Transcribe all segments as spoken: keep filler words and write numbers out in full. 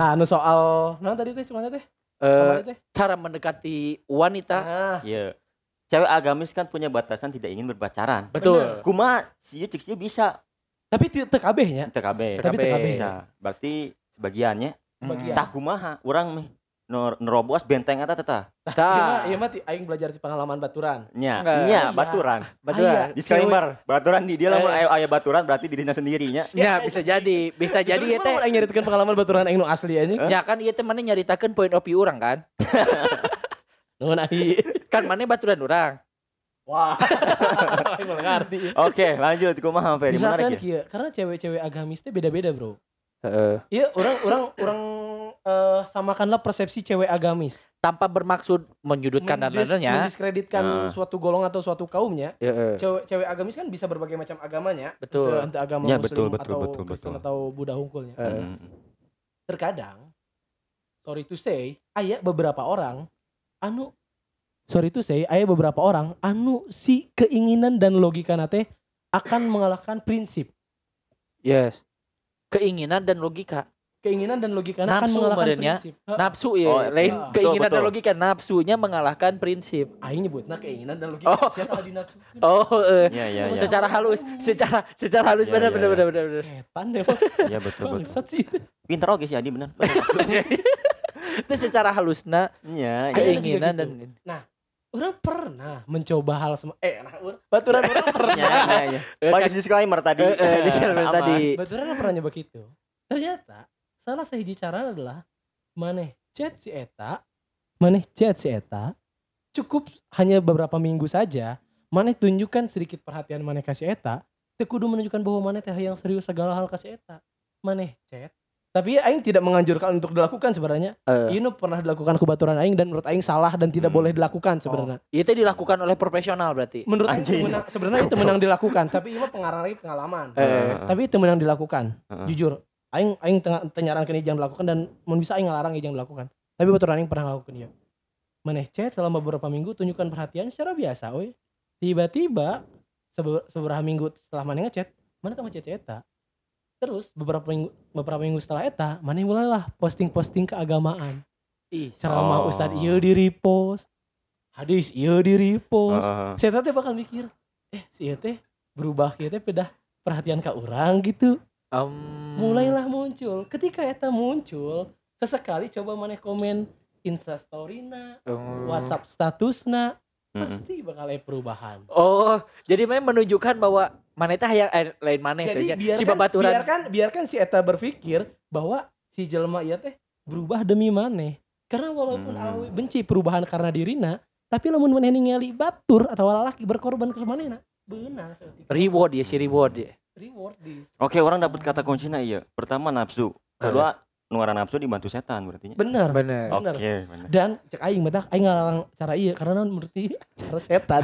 Nah, nu soal nah tadi teh cuma teh. Uh, cara mendekati wanita. Ah. Iya. Cewek agamis kan punya batasan tidak ingin berpacaran. Betul. Kumaha sih cek sih bisa. Tapi teu kabehnya. Teu kabeh. Tapi teu kabeh. Bisa. Berarti sebagiannya. Sebagian. Tah kumaha urang meh nerobos benteng eta teh. Tah. Ieu mah aing belajar di pengalaman baturan. Nya, nya baturan. Baturan. Disclaimer, baturan di dia lamun aya aya baturan berarti dirinya sendirinya. Ya, bisa jadi, bisa jadi ieu teh aing nyaritakeun pengalaman baturan aing nu asli anjing. Ya kan ieu teh maneh nyaritakeun point of view urang kan. Nuhun ai. Kan maneh baturan urang. Wah. Aing malah ngarti. Oke, lanjut kumaha Ferry menarik ya. Karena cewek-cewek agamis teh beda-beda, Bro. Heeh. Iya, orang orang orang uh, samakanlah persepsi cewek agamis tanpa bermaksud menyudutkan dan lainnya, mendiskreditkan uh. suatu golongan atau suatu kaumnya. Uh. Cewek cewek agamis kan bisa berbagai macam agamanya. Betul. Entah agama ya, Muslim betul, betul, atau betul, Kristen betul. atau Buddha hungkulnya. Uh. Terkadang, sorry to say, aya beberapa orang anu sorry to say, aya beberapa orang anu si keinginan dan logika nate akan mengalahkan prinsip. Yes. Keinginan dan logika. Keinginan dan logika akan nafsu mengalahkan badannya. prinsip. Nafsu ya, oh, lain uh, keinginan betul, dan logika, nafsunya mengalahkan prinsip. Aing nyebutna keinginan dan logika. Oh. Siapa di nafsu? Oh, uh, ya, ya, ya. secara halus, secara secara halus Ya, benar ya, benar ya. benar benar benar. Setan deh. Iya betul betul. Bangsat sih. Pinter oge sih Adi benar. Itu secara halusna Iya, keinginan gitu. dan nah, orang pernah mencoba hal sem eh nah, baturan orang pernah. Ya, ya, ya. Pakai disclaimer tadi. Eh, eh, disclaimer Aman. tadi. Baturan orang pernah nyoba gitu. Ternyata salah sahiji cara adalah maneh chat si eta, maneh chat si eta cukup hanya beberapa minggu saja, maneh tunjukkan sedikit perhatian maneh kasih eta, teu kudu menunjukkan bahwa maneh teh yang serius segala hal kasih eta. Maneh chat. Tapi aing tidak menganjurkan untuk dilakukan sebenarnya. Uh. Ini pernah dilakukan ku baturan aing dan menurut aing salah dan tidak hmm. boleh dilakukan sebenarnya. Oh. Itu dilakukan oleh profesional berarti. Menurut aing itu menang, sebenarnya itu menang dilakukan, tapi ini pengaruh pengalaman. Uh. Tapi itu menang dilakukan. Uh. Jujur, aing aing tengah tenyarankeun ijang dilakukan dan mun bisa aing ngalarang ijang dilakukan. Tapi baturan aing pernah ngelakukan ieu. Maneh chat selama beberapa minggu tunjukkan perhatian secara biasa we. Tiba-tiba seberapa minggu setelah maneh ngechat, mana teh ngechat eta. Terus beberapa minggu beberapa minggu setelah eta, maneh mulailah posting-posting keagamaan. Ih, ceramah oh. Ustad ieu di repost. Hadis ieu di repost. Uh. Saya teh bakal mikir, eh si ieu teh berubah kieu teh pedah perhatian ka urang gitu. Um. Mulailah muncul. Ketika eta muncul, sesekali coba maneh komen Insta story-na, um. WhatsApp statusna, Mm-mm. pasti bakal ada perubahan. Oh, jadi memang menunjukkan bahwa maneh teh hayang eh, lain maneh teh Jadi si biarkan, babaturan. biarkan biarkan si eta berpikir bahwa si jelema ieu teh berubah demi maneh. Karena walaupun Hmm. awe benci perubahan karena dirina, tapi lamun maneh ningali batur atau lalaki berkorban ke manehna, beunang saeutik. Reward ya si reward ya. Reward this. Oke, orang dapat kata kuncinya iya. Pertama nafsu, kedua nuaran nafsu dibantu setan berarti. Benar. Bener. Bener. Oke, benar. Dan cek aing mah aing ngalarang cara ieu karena naon menurut ieu cara setan.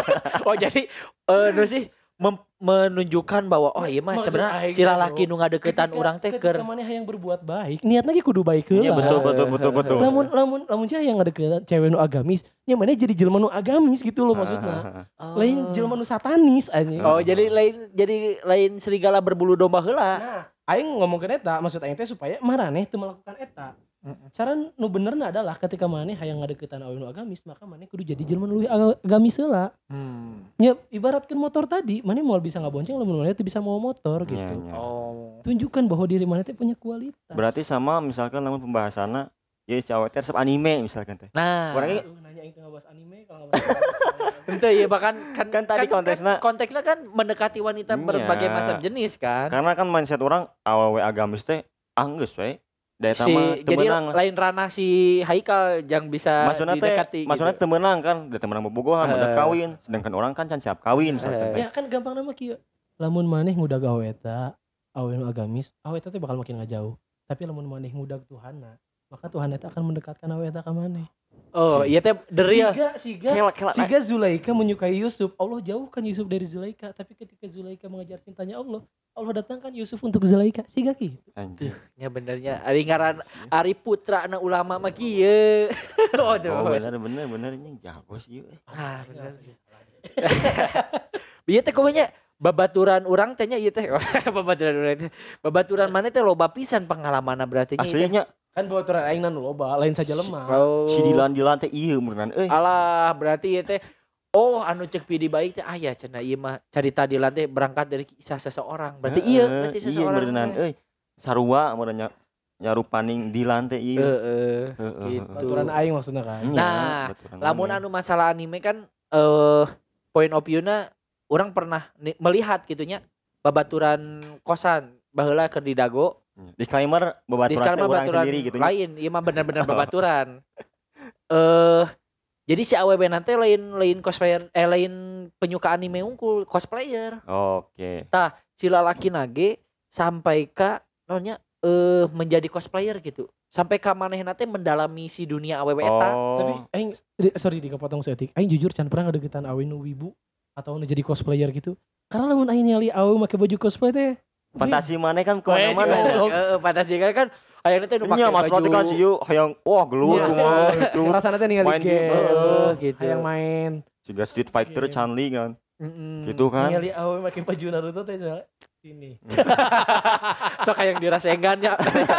Oh jadi eh uh, sih mem- menunjukkan bahwa oh iya mah Maksud sebenarnya aing si lalaki bro, nu ngadeukeutan ketika- urang teh ketika keur maneh hayang berbuat baik, niatna ge kudu baik heula. Iya betul betul betul betul. Lamun lamun lamun cia yang ngadeukeun cewek nu agamis, nya maneh jadi jelema nu agamis gitu loh maksudna. Oh. Lain jelema nu satanis anjing. Oh jadi lain jadi lain serigala berbulu domba heula. Nah, aing ngomongkeun eta maksud aing teh supaya maraneh teu melakukan eta. Cara nu benerna adalah ketika maneh hayang ngadeuketan awewe nu agamis, maka maneh kudu jadi jelema nu leuwih agamis heula. Hmm. Nya ibaratkeun motor tadi, maneh moal bisa ngabonceng lamun maneh teu bisa mau motor gitu. Iya, iya. Oh. Tunjukkan bahwa diri maneh teh punya kualitas. Berarti sama misalkan namun pembahasannya ya si awet teh resep anime misalkan teh. Nah, Orangnya Aduh, nanya aing teh ngabahas anime kalau ngabahas anime. itu ya bahkan kan, Kan tadi konteksnya- kan, konteksnya kan mendekati wanita Iya. berbagai macam jenis kan. karena kan mindset orang awewe agamis teh anggeus we. Daya Si, tama teu jadi meunang. lain ranah si Haikal yang bisa Maksudnya teh didekati maksudnya gitu. teu meunang kan, da teu meunang bobogohan, Eh. udah kawin, sedangkan orang kan can siap kawin misalkan teh. Ya kan gampang nama kieu. Lamun maneh ngudag awewe eta, awewe nu agamis, awewe eta teh bakal makin ngajauh. Tapi lamun maneh ngudag Tuhanna, maka Tuhan eta akan mendekatkan awewe eta ka maneh. Oh, iya teh the real. Siga siga Kela kela. Siga Zulaika menyukai Yusuf, Allah jauhkan Yusuf dari Zulaika. Tapi ketika Zulaika mengejar cintanya Allah, Allah datangkan Yusuf untuk Zulaika. Siga ki. Anjing. Ya benernya ari ngaran Ari Putra na ulama mah kieu. Oh Aduh. bener bener bener ini jago sih. ieu. Ah, bener. Ieu teh kumanya babaturan urang teh nya ieu teh babaturan urang. Babaturan mana teh loba pisan pengalamanna berarti nya. Aslinya Kan babaturan aing nu loba, lain saja lemah. Oh. Si dilan-dilan teh ieu beneran euy. Alah, berarti ieu teh oh anu cek Pidi baik teh aya cenah ieu mah carita di lantai berangkat dari kisah seseorang. Berarti iya berarti Iya seseorang. beneran euy. Sarua meureun nyarupaning di lantai ieu. Heeh. Heeh. Gitu. Babaturan aing maksudnya kan. Iya, Nah, baturan lamun maneh. anu masalah anime kan eh point of view-na orang pernah ni- melihat gitunya babaturan kosan baheula keur di Dago. Disclaimer babaturan teh Disclaimer urang babaturan sendiri gitu nya. lain, ieu mah bener-bener babaturan. Eh jadi si awewe nanti lain lain cosplayer eh lain penyuka anime unggul cosplayer. Oke. Si lalaki nage sampai ka nonya eh menjadi cosplayer gitu. Sampai ka manehna teh mendalami si dunia awewe eta. Oh. Tapi aing di- sorry dikepotong seetik. Aing jujur can pernah ngadegetan awe nu wibu atau nu jadi cosplayer gitu. Karena lamun aing nyali awe make baju cosplay teh Fantasi maneh kan Oh, iya sih, kemana-mana. goblok. Heeh, fantasi kan kan ayeuna teh nu make Nya mas baju. kan si yuk hayang wah gelut Iya. kumaha gitu. rasana teh ningali Main game, game. Heeh, gitu. Hayang main. Juga Street Fighter Iya. Chun-Li kan. Mm-mm. Gitu kan. Ningali awe make baju Naruto teh soalnya sini. Sok kayak dirasengan ya.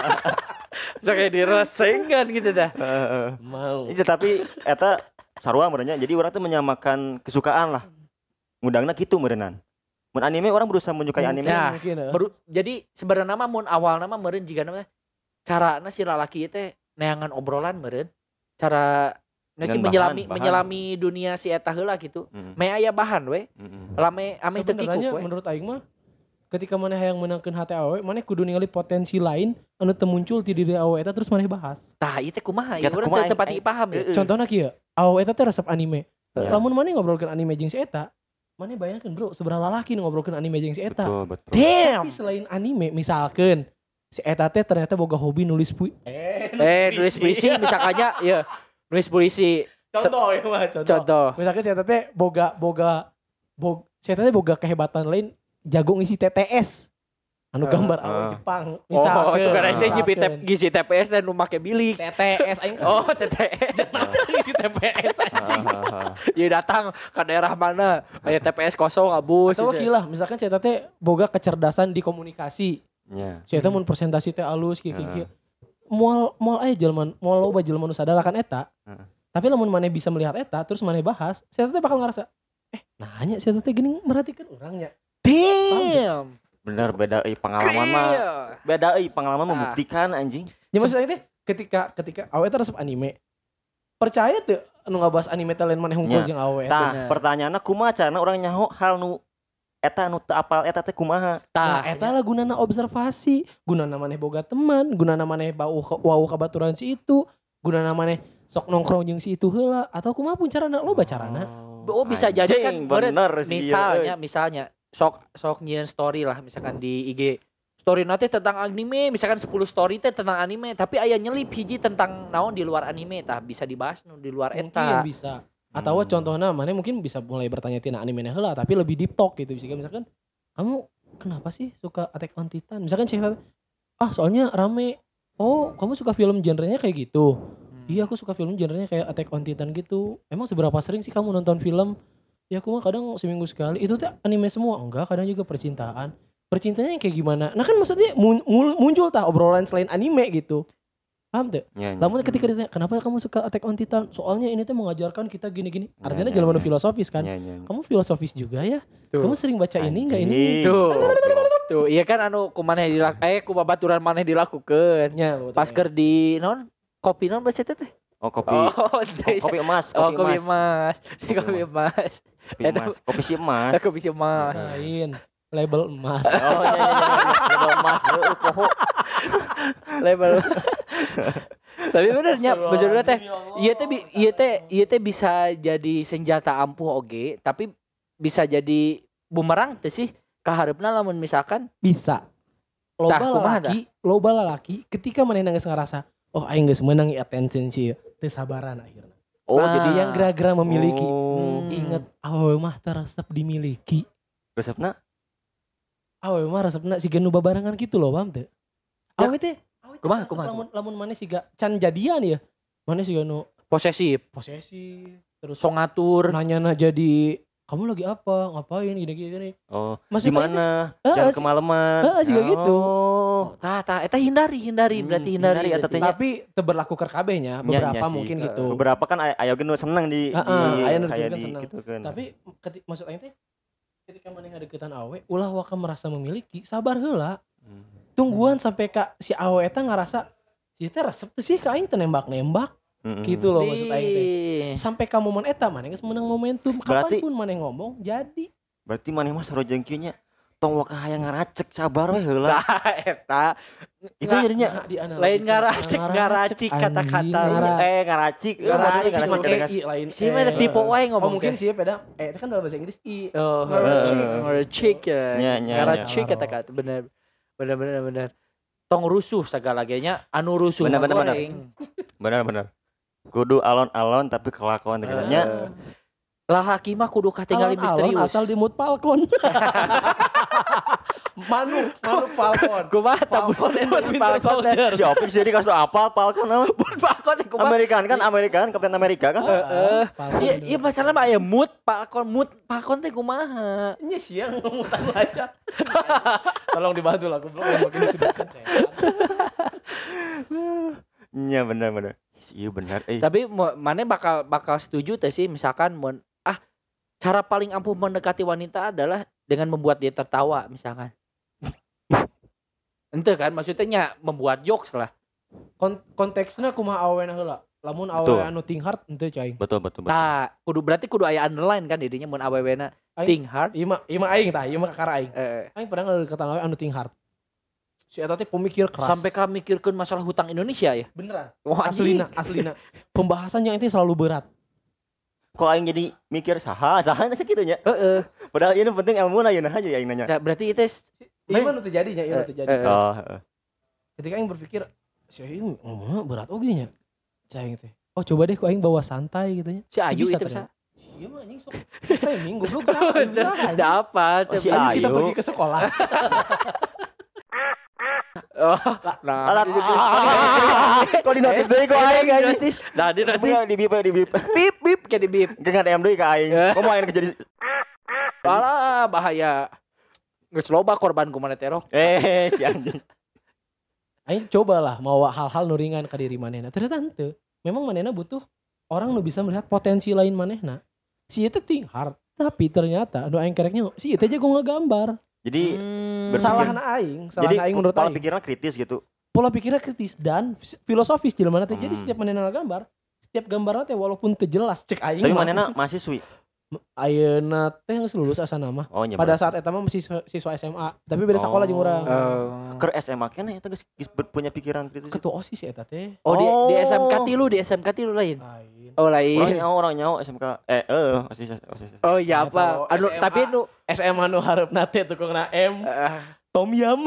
Sok kayak dirasengan gitu dah. Heeh. Mau. Iya tapi eta sarua merenya jadi orang tuh menyamakan kesukaan lah. Mudangna kitu meureunnan. Mun anime orang berusaha menyukai anime. Ya. Mungkin, eh. Baru jadi sebenarnya mah mun awal nama meureun jiga nama carana si lalaki teh neangan obrolan meureun. Cara nasi Dengan menyelami bahan, bahan. menyelami dunia si eta heula gitu. Heeh. Me aya bahan we. Heeh. Lame ame teu Sebenarnya kikuk we. menurut aing mah ketika maneh hayang menangkeun hati awe, maneh kudu ningali potensi lain anu teu muncul ti diri awe eta terus maneh bahas. Tah ieu teh kumaha? Kita Ieu urang kumaha, teu teu pati aing- paham ya. Heeh. Contohna kieu, awe eta teh resep anime. Iya. Lamun maneh ngobrolkeun anime jeung si eta, maneh bayangkeun bro, seberapa lalaki nu ngobrolkeun anime jeung si eta. Betul, betul. Damn. Tapi selain anime, misalkan si eta teh ternyata boga hobi nulis puisi. Eh, Eh nulis puisi misalkannya ya nulis puisi. Contoh ya mah, contoh. Contoh. Misalkan si eta teh boga boga bog si eta teh boga kehebatan lain jago ngisi T T S. Anu Eh, gambar eh. awe Jepang. Oh, suka Misalkeun. aja nyipi Misalkeun. tep gizi T P S dan nu make bilik. T T S aing. Oh, T T S. ngisi T P S anjing. Hahaha. Ya datang ke daerah mana? Kayak T P S kosong abus. Atau kieu lah, misalkan si eta teh boga kecerdasan di komunikasi. Nya. Si eta mun presentasi teh alus kieu kieu. Heeh. kieu. Moal moal aya jelema, moal loba jelema nu sadar akan eta. Heeh. Tapi lamun maneh bisa melihat eta terus maneh bahas, si eta teh bakal ngerasa, eh nanya si eta teh gini merhatikan orangnya. Damn. Bener beda euy pengalaman mah. Beda euy pengalaman Ah. membuktikan anjing. Ya maksudnya teh ketika ketika awe eta resep anime. Percaya tuh anu ngabahas anime teh lain maneh hungkul Nya. jeung awe eta. Tah, bener. pertanyaanna kumaha carana urang nyaho hal nu eta nu teu apal eta teh kumaha? Nah, Tah, eta lah gunana observasi, gunana maneh boga teman, gunana maneh bau ke- wau kabaturan si itu, gunana maneh sok nongkrong jeung si itu heula atau kumaha pun carana loba carana. Oh bisa jadi kan Anjing, meureun. bener sih, misalnya euy. misalnya sok sok nyieun story lah misalkan di I G. Story nanti tentang anime, misalkan sepuluh story teh tentang anime, tapi aya nyelip hiji tentang naon di luar anime tah bisa dibahas nu di luar Mungkin eta. bisa. Atau Hmm. contohnya maneh mungkin bisa mulai bertanya tina anime heula tapi lebih deep talk gitu bisa misalkan kamu kenapa sih suka Attack on Titan? Misalkan cerita ah soalnya rame. Oh, kamu suka film genrenya kayak gitu. Hmm. Iya aku suka film genrenya kayak Attack on Titan gitu. Emang seberapa sering sih kamu nonton film? Ya aku mah kadang seminggu sekali. Itu tuh anime semua. Enggak, kadang juga percintaan. Percintaannya kayak gimana? Nah kan maksudnya mun- mul- muncul tah obrolan selain anime gitu. Paham tuh? Nya, nya. Namun ketika ditanya, kenapa kamu suka Attack on Titan? Soalnya ini tuh mengajarkan kita gini-gini. Ya, Artinya ya, jalan ya. filosofis kan. Nya, nya, nya. Kamu filosofis juga ya? Tuh. Kamu sering baca ini enggak ini? Anjing, Tuh. goblok. Tuh, iya kan anu kumaneh dilak eh ku babaturan maneh dilakukeun. Ya, betul. Pas keur di non kopi non bahasa teh teh. Oh kopi. Oh, Oh, kopi emas, Oh, kopi kopi emas. emas. Kopi emas. Kopi emas. Kopi si emas. Kopi si emas. lain label emas. Oh iya iya iya. Label emas heuh poho. Label. Tapi benernya maksudnya teh ieu teh bi- ieu teh ieu teh bisa jadi senjata ampuh oge, tapi bisa jadi bumerang teh sih kaharepna lamun misalkan Bisa. Loba Tah, kumaha lalaki, loba lalaki ketika maneh geus ngerasa, oh aing geus meunang ieu attention sih, teu sabaran akhirna. Oh Ah. jadi Yang gerak-gerak memiliki. Oh. Hmm. Ingat awewe mah teu resep dimiliki. Resepna? Awewe mah resepna siga nu babarengan gitu loh, paham teu? Ya. Awewe teh, awewe teh Kumaha, resep kumaha, lamun lamun maneh siga can jadian ya. Maneh siga nu posesif, posesif, terus sok ngatur. nanya jadi kamu lagi apa, ngapain gini gini gini. Oh, Maksudnya gimana? Eh, Jangan si- kemalaman. eh, juga gitu. Oh. Oh. Tah tah eta hindari hindari Hmm, berarti hindari. hindari eta berarti. teh nya. Tapi teu berlaku keur kabehnya, Nya, beberapa nya sih. mungkin gitu. Beberapa kan aya aya oge nu seneng di Heeh, di aya nu kayak juga di seneng. gitu kan. Tapi ketika maksud aing teh ketika maneh ngadeukeutan awe, ulah waka merasa memiliki, sabar heula. Hmm. Tungguan sampai ka si awe eta ngarasa si teh resep teh sih ka aing teh nembak-nembak. Mm-mm. Gitu loh maksud aing teh. Di- Sampai ka momen eta maneh geus meunang momentum. Berarti- Kapanpun maneh ngomong jadi. Berarti maneh mah sarojeng kieu nya tong waka hayang ngaracek sabar we heula. Tah eta Itu jadinya Nah, dianalogikeun. lain ngaracek Ngaracek, ngaracik anjing, kata-kata. ngara- eh ngaracik. Eh, maksudnya Ngaracik ngaracik make kadang- i lain Si mah ada eh. tipe wae Oh ngomong mungkin teh. sih beda. Eh itu kan dalam bahasa Inggris i. Oh, Ngaracik. ngaracik ya. Nya, nya, Ngaracik nya. kata-kata bener. Bener bener bener. Tong rusuh sagalaganya anu rusuh Bener, mah bener, bener. goreng. Benar benar. Kudu alon-alon tapi kelakuan teh Eh, nya. Lalaki mah kudu katingali Alon-alon misterius. asal di mood Falcon. Manu, Manu Falcon. Kumaha ta Falcon and the Winter Falcon Soldier. Si Opik jadi kasus apa apal kan naon? Falcon teh kumaha? Amerikan kan Amerikan Kapten Amerika kan? Heeh. Falcon Iya, dulu. iya masalah mah aya mood Falcon mood Falcon teh kumaha? Nya siang ngumutan aja. Tolong dibantu lah, goblok yang makin disebutkan saya. Iya benar benar. Iya benar. Eh Tapi mo- maneh bakal bakal setuju teh sih misalkan mun ah cara paling ampuh mendekati wanita adalah dengan membuat dia tertawa misalkan. Ente kan maksudnya nya membuat jokes lah. Kon- konteksnya kumaha awena heula. Lamun Betul. awe anu ting hard henteu cai. betul betul betul. Tah, kudu berarti kudu aya underline kan didinya mun awewena Aing- think hard. Ieu mah ieu mah aing tah, ieu mah kakara aing. Eh, Aing pernah ngadeukeutan awe anu ting hard. Si eta teh pemikir keras. sampai ka mikirkeun masalah hutang Indonesia ya. beneran. Wah, anjing. Aslina, aslina. Pembahasannya itu selalu berat. Kok aing jadi mikir saha saha geus kitu nya. Heeh. Padahal ini penting ilmu na yeuna aja aing nanya. Ya, berarti itu s- Ieu mah nu teu jadinya, ieu mah teu jadi. Eh, eh. Oh, heeh. Ketika aing berpikir, si aing ngomongna berat oge nya. Cai aing teh. Oh, coba deh ku aing bawa santai gitu nya. si Ayu Bisa itu ternyata. bisa. Ieu mah anjing sok framing goblok saha. Ayu saha, Udah apa? Oh, si anjing. Kita Ayu. pergi ke sekolah. Oh, nah. Alat kok di notis deui kok aing anjing. Notis. Nah, di notis. Di bip di bip. Bip bip kayak di bip. Geus ngadem deui ka aing. Kok mau aing jadi Alah, bahaya. Geus loba korban ku mana teror. eh si anjing. Aing cobalah mawa hal-hal nu ringan ka diri manehna. Ternyata henteu. Memang manehna butuh orang nu bisa melihat potensi lain manehna. Si itu ting hard, tapi ternyata anu aing kereknya si itu aja gua ngegambar. Jadi Hmm. berpikir- Salahna aing, jadi salahna aing menurut pola aing. pikirnya kritis gitu. Pola pikirnya kritis dan fis- filosofis jelema teh. Jadi Hmm. setiap manehna ngagambar, setiap gambarna teh walaupun teu jelas cek aing. Tapi mah. manehna mahasiswi. Ayeuna teh geus lulus asa nama. Oh nya. Pada saat eta mah masih siswa- siswa S M A, tapi beda sekolah jeung urang. Oh. Keur S M A keneh eta geus geus ber- punya pikiran kritis. Ketua OSIS eta teh. Oh, di, di S M K Oh. tilu, di S M K tilu lain. Lain. Oh, Orang lain. nyawa orang nyawa S M K. Eh eh osis osis. Oh, iya Ya, apa? tahu. Anu S M A. tapi nu S M A nu hareupna teh tukangna M, eh, Tom Yam.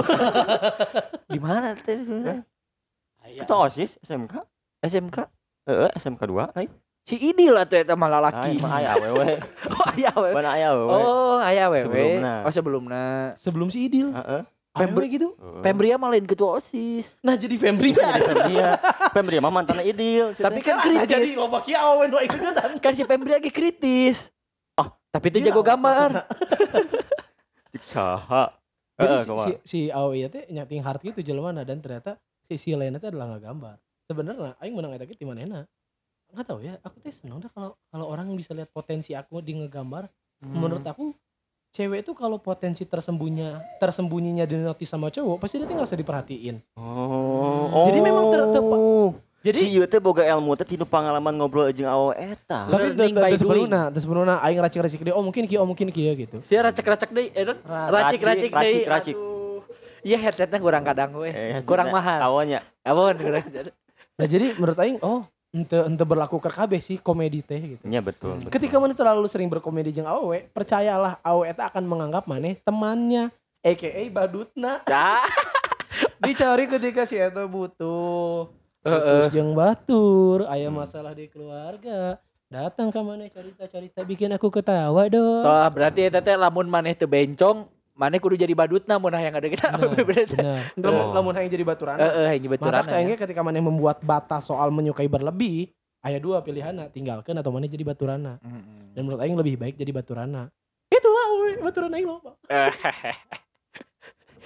di mana teh? Kita osis S M K. S M K. Heeh S M K dua ai. Si Idil lah tuh eta mah Ai lalaki. mah aya awewe. Oh, aya we. Mana aya awewe. Oh, aya we. Sebelumna. Oh, sebelumna. Sebelum si Idil. Heeh. Pembri- Pembri gitu. Pembria mah lain ketua OSIS. Nah jadi Fembri Jadi Pembria. Pembria mah mantanna Idil. si Tapi teh. kan Nah, jadi kritis. loba kieu awen dua ikutan. Kan si Pembria lagi kritis. Oh, tapi itu jago gambar. Cik saha. Jadi Heeh, si, kumaha? si, si Awe ieu teh nyating hard gitu jelema dan ternyata si si lainnya teh adalah ngagambar. Sebenarnya aing menang eta ge ti manehna. Enggak tahu ya, aku teh seneng dah kalau kalau orang bisa lihat potensi aku di ngegambar. Hmm. Menurut aku cewek itu kalau potensi tersembunyinya tersembunyinya di notis sama cowok pasti dia tinggal usah diperhatiin. Oh. Jadi memang ter- ter- oh. Jadi si ieu teh boga ilmu teh tina pengalaman ngobrol jeung awewe eta. tapi Learning by terus doing. sebelumna, terus sebelumna aing racik-racik dia, oh mungkin kieu, oh mungkin kieu gitu. Si racek-racek deui, eh, racik-racik racik, deui. racik. Aduh. Iya headsetnya kurang kadang we. Eh, Kurang hasilna mahal. Awalnya. Abon kurang. Nah jadi menurut aing oh ente ente berlaku ke kabeh sih komedi teh gitu. Nya betul. betul. Ketika mana terlalu sering berkomedi jeung awewe, percayalah awewe eta akan menganggap maneh temannya, aka badutna. Dah. Dicari ketika si eta butuh. Heeh. Putus jeung batur, aya masalah di keluarga. Datang ka maneh cerita-cerita bikin aku ketawa dong. Toh berarti eta teh lamun maneh teu bencong, maneh kudu jadi badutna mun hayang ada kita. Benar, benar. Lamun Oh. lamun hayang jadi baturan. Heeh, hiji baturan. Maka sayangnya ketika maneh membuat batas soal menyukai berlebih, aya dua pilihanna, tinggalkan atau maneh jadi baturana. Dan menurut aing lebih baik jadi baturana. Itulah we, baturan aing loba.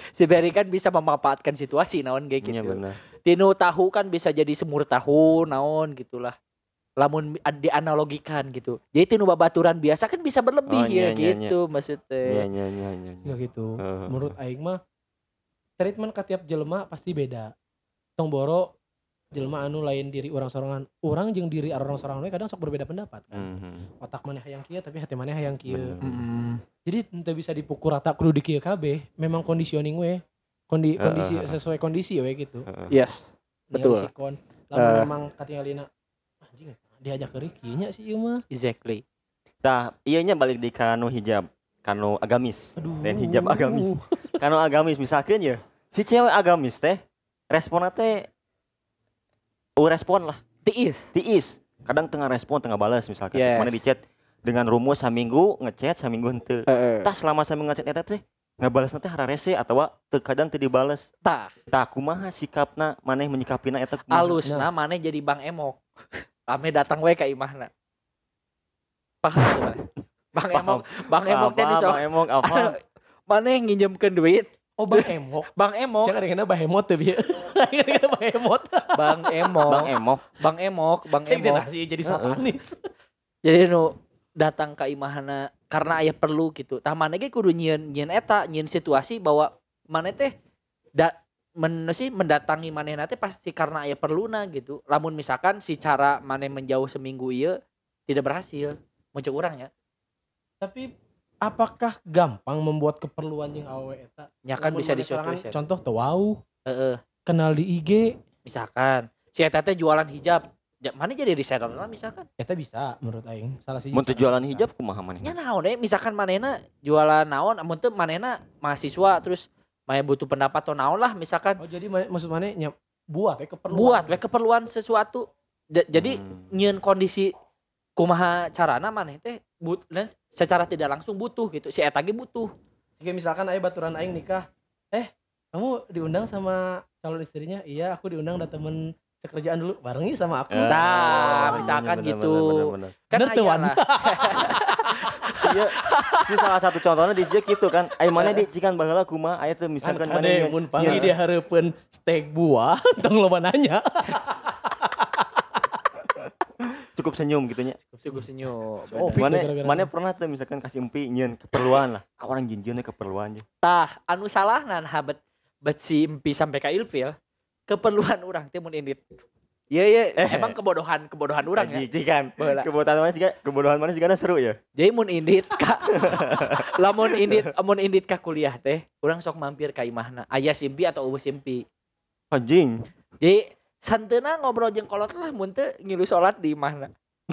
Si Berry kan bisa memanfaatkan situasi naon kayak gitu. Iya benar. Tinu tahu kan bisa jadi semur tahu naon gitulah. Lamun dianalogikan gitu. Jadi tinu babaturan biasa kan bisa berlebih Oh, ya nya, nya, gitu maksudnya. Iya iya iya iya. Ya gitu. Heeh. Menurut aing mah treatment ke tiap jelema pasti beda. Tong boro jelema anu lain diri orang sorangan. Orang jeung diri orang sorangan we kadang sok berbeda pendapat kan. Mhm. Otak maneh hayang kieu tapi hati maneh hayang kieu. Bener. Mm. Jadi teu bisa dipukul rata kudu di kieu kabeh. Memang conditioning we. Kondi, Heeh, kondisi heeh. sesuai kondisi we gitu. Heeh. Yes. Betul. Nya sikon. Lamun Eh. memang katingalina anjing diajak ke kieu nya sih ieu mah. Exactly. Tah, ieu nya balik di kanu hijab, kanu agamis. Aduh. Dan hijab agamis. Kanu agamis misalkan ya, si cewek agamis teh responna teh oh respon lah, Tiis. tiis. Kadang tengah respon, tengah balas misalkan. Yes. Mana di chat dengan rumus saminggu ngechat, saminggu henteu. Heeh. Tah selama saminggu ngechat eta teh ngabalasna teh hara rese atawa teu kadang teu dibales. Tah, Tah kumaha sikapna maneh menyikapina eta kumaha? alusna maneh jadi Bang Emok. Rame datang we ka imahna. Paham tuh, Bang? Bang Paham. Emok, Bang Emok teh Apa, disok. Bang Emok apa? Maneh nginjemkeun duit, Oh Bang Emok. Bang Emok, Siapa kadang-kadang bahemot tuh bieu. Kadang-kadang bahemot. Bang Emok, Bang Emok. Bang Emok, Bang Cek Emok. nasi jadi satanis. Jadi nu datang ka imahana karena aya perlu gitu. Tah maneh ge kudu nyieun nyieun eta, nyieun situasi bahwa maneh teh da men sih mendatangi manehna teh pasti karena aya perluna gitu. Lamun misalkan si cara maneh menjauh seminggu ieu tidak berhasil, muncul urang ya. Tapi apakah gampang membuat keperluan yang awe eta? Nya kan Lamun bisa maneh sorangan, disuatuin. Contoh teu wau, Heeh. kenal di I G, Misalkan si eta teh jualan hijab. Ja, mana jadi reseller lah misalkan. eta bisa menurut aing. Salah siji. Mun teu cara jualan bisa. hijab kumaha maneh? Nya naon eh misalkan manehna jualan naon amun teu manehna mahasiswa terus maya butuh pendapat atau naon lah misalkan Oh jadi mane- maksud maneh nya buat we keperluan. buat we keperluan sesuatu. Ja- jadi Hmm. nyieun kondisi kumaha carana maneh teh but dan secara tidak langsung butuh gitu. Si eta ge butuh. Jika misalkan aya baturan aing nikah, eh kamu diundang sama calon istrinya? Iya, aku diundang da temen sekerjaan dulu, bareng yuk sama aku. Eh, Nah, iya, misalkan bener, gitu. bener, bener, bener. Kan Bener tuh, aya Wan. lah. Si, ieu- si salah satu contohnya di sieu gitu kan. Ai maneh di cikan baheula kumaha aya teh misalkan Kan maneh kade mun panggil dia hareupeun steak buah, tong loba nanya. cukup senyum gitu nya. Cukup senyum. Oh, bener. Pik, Maneh gara-gara. maneh pernah tuh misalkan kasih empi nyieun keperluan lah. Ah, orang jinjinnya keperluan je. Tah, anu salah nan habet bet si empi sampai ka ilfil keperluan urang teh mun indit. Iya iya, emang kebodohan kebodohan urang ya. Ji kan. Baheula. Kebodohan maneh juga kebodohan maneh juga seru ya. Jadi mun indit ka lamun indit mun indit ka kuliah teh, urang sok mampir ka imahna. Aya simpi atau eueuh simpi. Anjing. Jadi santeuna ngobrol jeung kolot lah mun teu ngilu salat di imahna.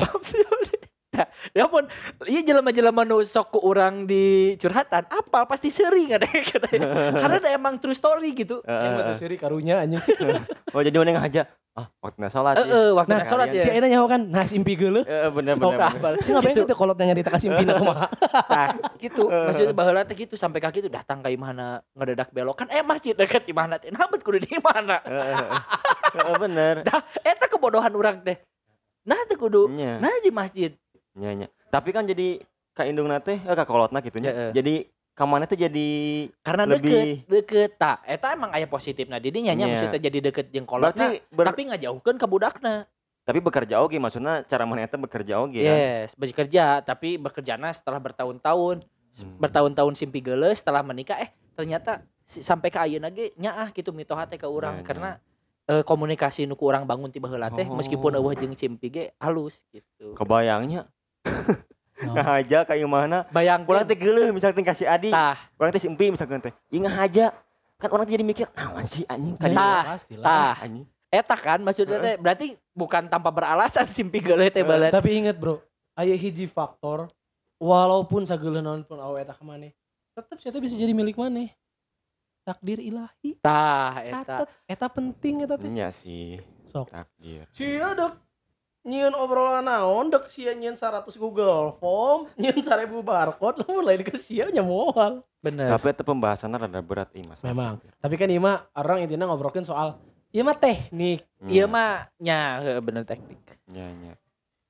Nah, ya pun ieu jelema-jelema nu sok ku urang di curhatan, apal pasti seuring ada karena ada emang true story gitu. Yang mah teu seri karunya anjing. Oh jadi maneh ngahaja. Ah, waktunya salat ya. Heeh, waktu Nah, salat kalian Si ya. Ena nyaho kan, nah simpi geuleuh. Heeh, bener Sok bener. bener. apal. Si ngapain Gitu. teh kolot yang nyarita ka simpina kumaha? Nah, gitu. Maksudnya baheula teh gitu sampai ka kitu datang ka imahna ngedadak belok kan eh masjid deket imahna teh. Nah, bet kudu di imahna. Heeh, heeh. Heeh, bener. Dah, eta kebodohan urang teh. Nah, teh kudu Nya. nah di masjid. Nya nya. Tapi kan jadi ka indungna teh, eh ka kolotna kitu nya. Heeh. Jadi ka maneh teh jadi Karena Lebih- deket, deket. Tah, eta emang aya positifna didinya nya Nya. maksudnya jadi deket jeung kolotna. berarti ber- Tapi ngajauhkeun ka budakna. tapi bekerja oge maksudnya cara maneh teh bekerja oge kan. Yes, bekerja tapi bekerjana setelah bertahun-tahun. Hmm. Bertahun-tahun simpi geuleuh setelah menikah eh ternyata si- sampai ka ayeuna ge nyaah kitu mitoha teh ka urang Nya, nya. karena eh, komunikasi nu ku urang bangun ti baheula teh Oh. meskipun eueuh jeung simpi ge halus gitu. Kebayangnya No. ngahaja ka imahna. Bayangkeun Urang teh geuleuh misalkan kasih adi. tah Urang teh si empi misalkan teh. Ieu ngahaja. Kan orang teh jadi mikir, naon sih anjing ka dieu Tah, pastilah. tah anjing. eta kan maksudnya teh berarti bukan tanpa beralasan simpi geuleuh teh Eh, balet. Tapi inget bro, aya hiji faktor walaupun sageuleuh naon pun awe eta ka maneh, tetep saya bisa jadi milik maneh. Takdir ilahi. Tah eta. Catet, eta penting eta teh. Iya sih, Sok. takdir. Sia dek nyieun obrolan naon dek sia nyieun seratus Google Form, nyieun seribu barcode, lamun lain ke sia nya moal. Bener. Tapi itu pembahasannya rada berat ih Mas. Memang. Tapi kan ieu mah orang intinya ngobrolin soal ieu mah teknik. Iya mah nya heuh, bener teknik. Iya, iya.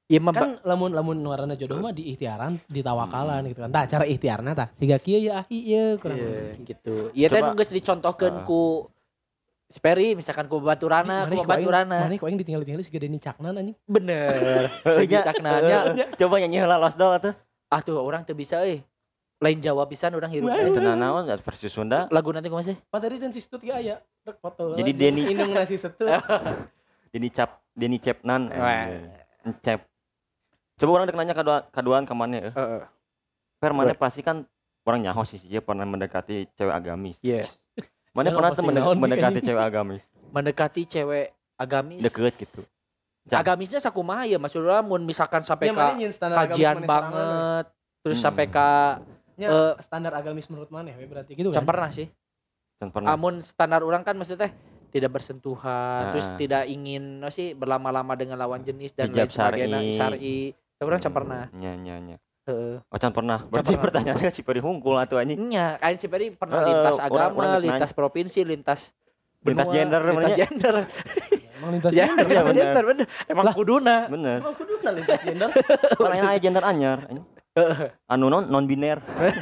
Iya mah Kan lamun lamun nuarana jodoh mah diikhtiaran, ditawakalan gitu kan. Tah cara ikhtiarna tah siga kieu ya ahi ieu kurang iya, lebih. gitu. Iya teh Coba- nu geus dicontohkeun Heeh. ku si Peri misalkan ku baturana, ku baturana. Mana ku aing ditinggal-tinggal siga Denny Caknan anjing. Bener. Heeh, Lagi nya. caknanya. Heeh, coba nyanyi heula Lost Doll atuh. Ah tuh orang teu bisa euy. Lain Jawa pisan urang hirup. Wah, teh. Cenah naon versi Sunda. Lagu nanti kumaha sih? Padahal dan si Stut ge aya rek foto. Jadi Denny- indung nasi Stut. Denny Cap Denny Cepnan. Wah. Cep. Coba orang dek nanya kadua kaduan ka maneh. eh. Heeh. Per maneh pasti kan orang nyaho sih dia pernah mendekati cewek agamis. Yes. Maneh Siapa pernah pasti tuh mende- naon nih, mendekati anjing. cewek agamis. Mendekati cewek agamis. Deket gitu. Cak. Agamisnya sakumaha ya Mas Urang mun misalkan sampai Ya, ka mana nyin standar agamis kajian maneh sorangan, banget terus Hmm. sampai ka we. Nya Eh, standar agamis menurut maneh we berarti gitu can kan. pernah sih. Can pernah. Amun standar orang kan maksudnya teh tidak bersentuhan, Nah. terus tidak ingin no sih berlama-lama dengan lawan jenis dan Hijab lain sebagainya, syar'i. syar'i. Tapi orang can pernah. Nya nya nya. Heeh. Oh can pernah. Berarti pernah. pertanyaannya si Peri hungkul atuh anjing. Nya, kain si Peri pernah Heeh, lintas orang- agama, orang nanya. lintas provinsi, lintas Lintas benua, gender lintas namanya. gender. Emang lintas Ya, gender. iya, lintas bener. gender bener. Emang kuduna. Bener. Emang kudu lintas gender. Orang yang aya gender anyar. anjing. Anu non non biner.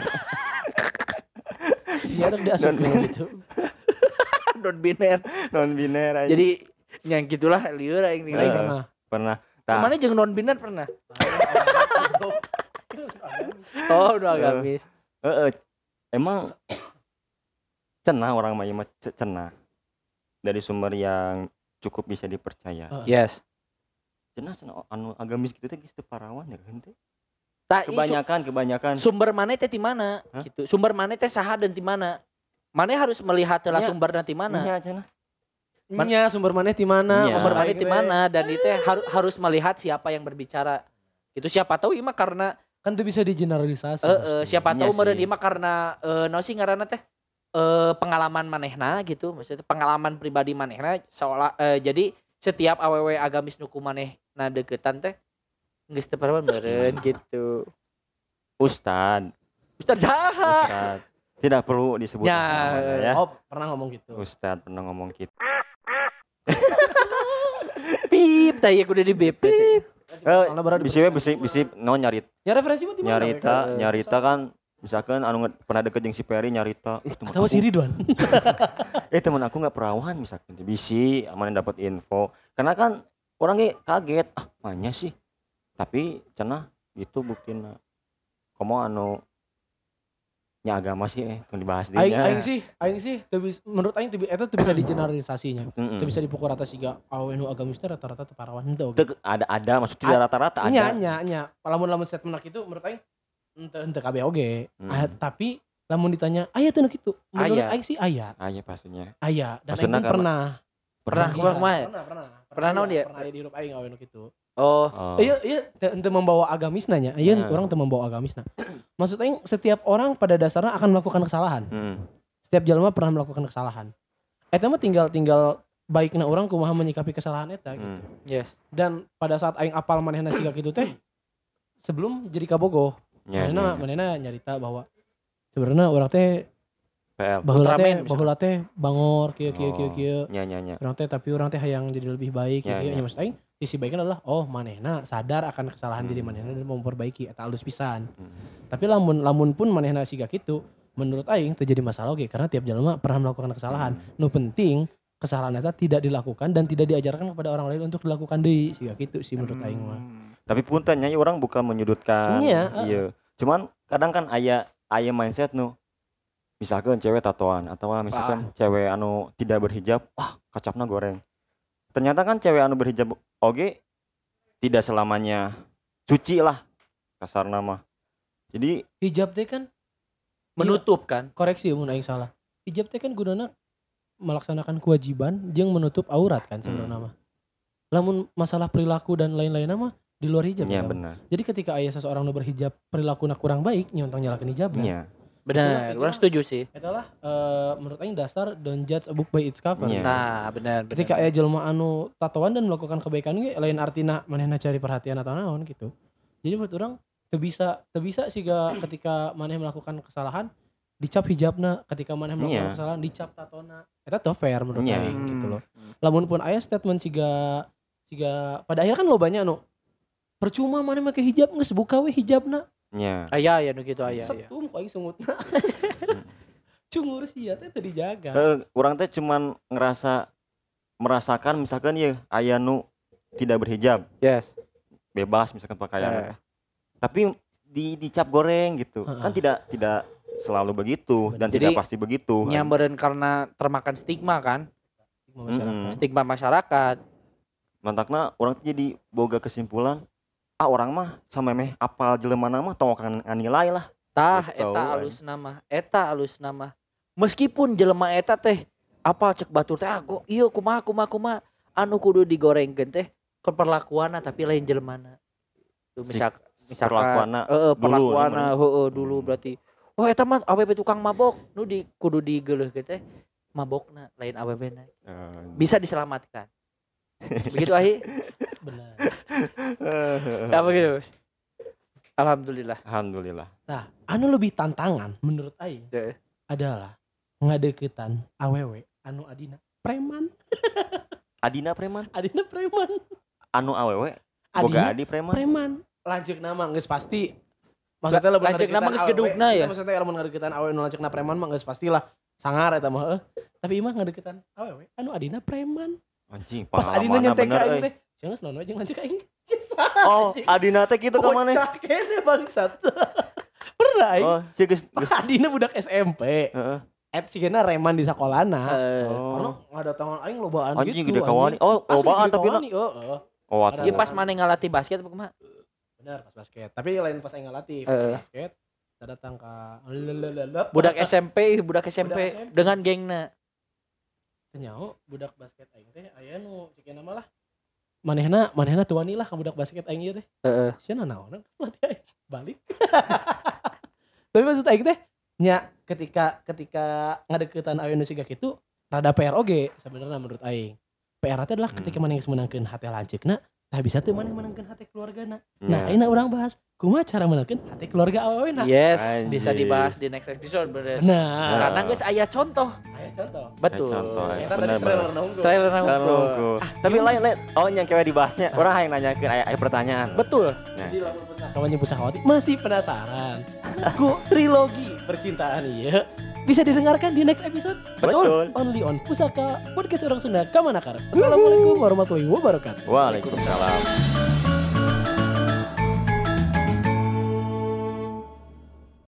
Si ada diasup gitu. Non biner. Non biner aja. Jadi yang gitulah lieur aing Heeh. nilai. Pernah. pernah. Tah. Mana jeung non biner pernah? Oh, udah agamis. Heeh. Emang cenah orang mah ieu mah ce- cenah. Dari sumber yang cukup bisa dipercaya. Heeh. Yes. Cenah cenah anu agamis gitu teh geus teu parawan ya kan teh. Tah, i- Kebanyakan kebanyakan. su- sumber mana teh di mana? Hah? Gitu. Sumber mana teh saha dan di mana? Mana harus melihat heula Nya. sumber nanti mana? Nya cenah. Man- Nya sumber maneh di mana? Nya. Sumber Masalah mana di we. mana dan itu harus harus melihat siapa yang berbicara. Itu siapa tahu ieu mah karena Kan itu bisa digeneralisasi. eh eh, siapa Iya tahu meureun sih. ieu mah karena eh naon sih ngaranna teh? Eh pengalaman manehna gitu, maksudnya pengalaman pribadi manehna seolah eh, jadi setiap awewe agamis nuku manehna deketan teh geus teu parawan meureun gitu. Ustad. Ustaz saha? Ustad. Tidak perlu disebut Ya, namanya ya. Oh, pernah ngomong gitu. Ustad pernah ngomong gitu. Pip, tah ieu kudu di bip. Eh, Soalnya berarti bisi we bisi bisi no nyarit Ya referensi mah di mana? nyarita we? nyarita kan misalkan anu nge- pernah deket jeung si Peri nyarita ih teman Tahu aku si Ridwan. eh teman aku nggak perawan misalkan bisi aman dapat info karena kan orang ge kaget ah mana sih tapi cenah gitu buktina komo anu nya agama sih eh tong dibahas di Aing aing sih, aing sih teu bis- menurut aing teu bi- eta teu bisa digeneralisasinya. Mm-mm. Teu bisa dipukul rata siga awe nu agamis teh rata-rata teu parawan henteu. Teu- ada ada maksudnya tidak rata-rata Nya ada nya nya. Lamun-lamun statement kitu menurut aing henteu henteu kabeh oge. Hmm. Ah, tapi lamun ditanya aya teu nu kitu. Menurut Aya. aing sih aya. aya pastinya Aya dan aing Maksudna pun karena- pernah. Pernah, Iya, kumaha kumaha? Pernah, pernah. Pernah naon aya, dia? Pernah aya di hirup aing awe nu kitu. Oh, oh. Iya, iya, teu teu membawa agamis nanya. Iya, Nah. orang teu membawa agamis nah. Maksud aing setiap orang pada dasarnya akan melakukan kesalahan. Mm. Setiap jalma pernah melakukan kesalahan. Eta mah tinggal tinggal baikna orang kumaha menyikapi kesalahan eta gitu. Mm. yes. Dan pada saat aing apal manehna siga kitu teh sebelum jadi kabogoh, Nya, nya, manehna nya. manehna nyarita bahwa sebenarnya orang teh P L baheula Ultraman teh misalkan. baheula teh bangor kieu kieu kieu Oh. kieu. nya nya nya Orang teh tapi orang teh hayang jadi lebih baik Ya, kieu ya. nya maksud aing sisi baiknya adalah oh manehna sadar akan kesalahan Hmm. diri manehna dan mau memperbaiki eta alus pisan. Mm. Tapi lamun lamun pun manehna siga kitu menurut aing terjadi masalah oge karena tiap jalma pernah melakukan kesalahan. Hmm. Nu penting kesalahan eta tidak dilakukan dan tidak diajarkan kepada orang lain untuk dilakukan deui siga kitu sih menurut aing mah. Tapi puntennya orang bukan menyudutkan. Iya, Iya. Cuman kadang kan aya aya mindset nu misalkan cewek tatoan atau misalkan cewek anu tidak berhijab, wah kacapna goreng. Ternyata kan cewek anu berhijab oge tidak selamanya suci lah kasar nama. Jadi Hijab teh kan Menutup kan? koreksi mun aing salah. Hijab teh kan gunana melaksanakan kewajiban jeung menutup aurat kan sebenarnya Hmm. mah. Lamun masalah perilaku dan lain-lainnya mah di luar hijab. nya kan. benar. Jadi ketika aya seseorang nu berhijab perilakunya kurang baik nyontong nyalakeun hijabna. Nya. Benar, Itulah- orang setuju sih. Itulah eh, menurut aing dasar don't judge a book by its cover. Iya. Nah, benar, benar. Ketika aya jelema anu tatoan dan melakukan kebaikan ge lain artina manehna cari perhatian atau naon gitu. Jadi menurut orang teu bisa teu bisa siga ketika maneh melakukan kesalahan dicap hijabna, ketika maneh melakukan Iya. kesalahan dicap tatona. Eta teu fair menurut Iya. aing gitu loh. Lamun pun aya statement siga siga pada akhirnya kan lo banyak anu Percuma mana make hijab geus buka we hijabna. Nya. Aya ya nu kitu aya ya. Setum kok aing sungutna. Cungur sia teh teu dijaga. Heeh, urang teh cuman ngerasa merasakan misalkan ya aya nu tidak berhijab, Yes. bebas misalkan pakaian Eh. teh. Tapi di dicap goreng gitu. Heeh. Kan tidak tidak selalu begitu dan Jadi, tidak pasti begitu. kan. Nyambereun karena termakan stigma kan, Mm-mm. stigma masyarakat. Mantakna orang teh jadi boga kesimpulan, ah orang mah sama meh apal jelema mah tong kan nganilai lah. Tah Gitu, eta kan. alus nama, eta alus nama. Meskipun jelema eta teh apa cek batur teh ah go ieu kumaha kumaha kumaha anu kudu digorengkeun teh keperlakuanna tapi lain jelemana. Tuh Si misal misalkan perlakuanna heeh dulu, perlakuanna namanya. heeh dulu berarti oh eta mah awewe tukang mabok nu di kudu digeuleuhkeun teh mabokna lain awewena. Eh, Bisa diselamatkan. Begitu Ahi? Benar. Apa gitu? Alhamdulillah. Alhamdulillah. Nah, anu lebih tantangan menurut aing Heeh. adalah ngadeukeutan awewe anu adina preman. Adina preman, Adina preman. anu awewe boga Adina adi preman. preman. Lanceuk nama geus pasti. Maksudnya lamun Lanceuk nama ngadeukeutan geus awewe, gedugna ya? eta Maksudnya lamun ngadeukeutan awewe nu lanceukna preman mah geus pastilah sangar eta mah heuh. Tapi imah ngadeukeutan awewe anu adina preman. Anjing, Pas adina pengalaman nyentek bener ka aing euy. teh, cenah naon jeung lanceuk aing. Oh, adina teh kitu ka maneh. Bocah kene bangsat. Pernah aing. Oh, si geus geus. Adina budak S M P. Heeh. Et sigana reman di sakolana. Heeh. Karena Oh. ngadatangan aing lobaan Anjing gitu. gede kawani. Oh, Asli lobaan gede tapi na. kawani, heeh. Oh, atuh. Ieu pas maneh ngalatih basket apa kumaha? Benar pas basket. Tapi lain pas aing ngelatih pas Heeh. basket. Kita datang ke lelelelelep. Budak S M P, budak S M P Budak S M P. dengan gengna. Nyao budak basket aing teh aya nu cikena mah lah. Manehna manehna tuani lah ka budak basket aing ieu teh. Heeh. Sia naon pelatih aing balik. Tapi maksud aing teh nya ketika ketika ngadeuketan awewe nu siga kitu rada P R oge sebenarnya menurut aing. P R teh adalah ketika Hmm. maneh geus meunangkeun hate lanceukna, tah bisa teu maneh meunangkeun hate keluargana. Nah, Nya. ayeuna urang bahas kumaha cara meunangkeun hate keluarga awewena. Yes, Anjing. bisa dibahas di next episode bener. Benar. Karena geus aya contoh. Aya contoh. Betul. contoh, aya. Eta tadi Benar, trailer na unggul. Trailer Jangan nangkul. nunggu. Tapi lain lain. Oh, yang kewe dibahasnya. Orang hayang nanyakeun aya aya pertanyaan. Betul. Jadi lamun pusakawanya pusakawati masih penasaran ku trilogi percintaan ieu bisa didengarkan di next episode. Betul. Only on Pusaka Podcast Orang Sunda Kamanakar. Assalamualaikum warahmatullahi wabarakatuh. Waalaikumsalam.